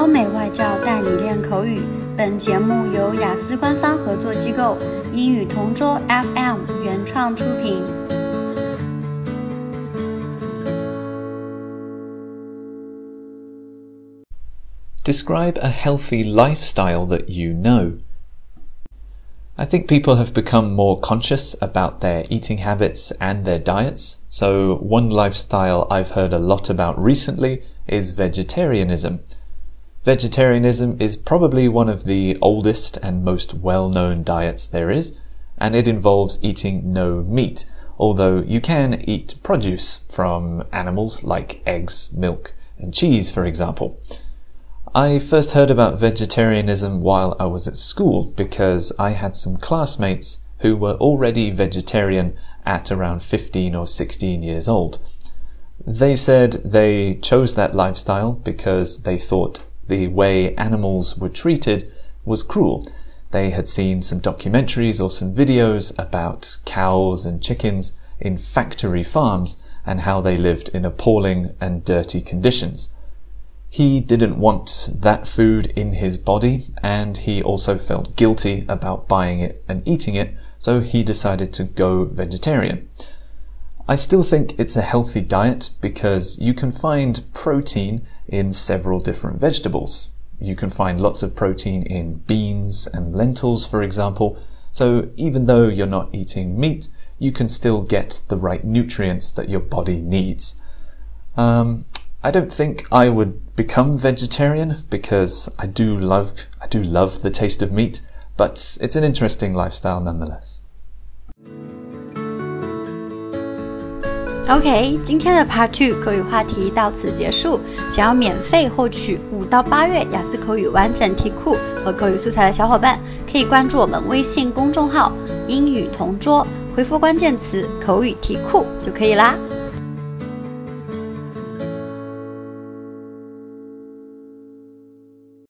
欧美外教带你练口语。本节目由雅思官方合作机构英语同桌 FM 原创出品。 Describe a healthy lifestyle that you know. I think people have become more conscious about their eating habits and their diets. So one lifestyle I've heard a lot about recently is vegetarianism. Vegetarianism is probably one of the oldest and most well-known diets there is, and it involves eating no meat, although you can eat produce from animals like eggs, milk, and cheese, for example. I first heard about vegetarianism while I was at school because I had some classmates who were already vegetarian at around 15 or 16 years old. They said they chose that lifestyle because they thought the way animals were treated was cruel. They had seen some documentaries or some videos about cows and chickens in factory farms and how they lived in appalling and dirty conditions. He didn't want that food in his body, and he also felt guilty about buying it and eating it, so he decided to go vegetarian. I still think it's a healthy diet because you can find protein in several different vegetables. You can find lots of protein in beans and lentils, for example, so even though you're not eating meat, you can still get the right nutrients that your body needs. I don't think I would become vegetarian because I do love the taste of meat, but it's an interesting lifestyle nonetheless. OK， 今天的 Part 2口语话题到此结束。想要免费获取5到8月雅思口语完整题库和口语素材的小伙伴，可以关注我们微信公众号英语同桌，回复关键词口语题库就可以啦。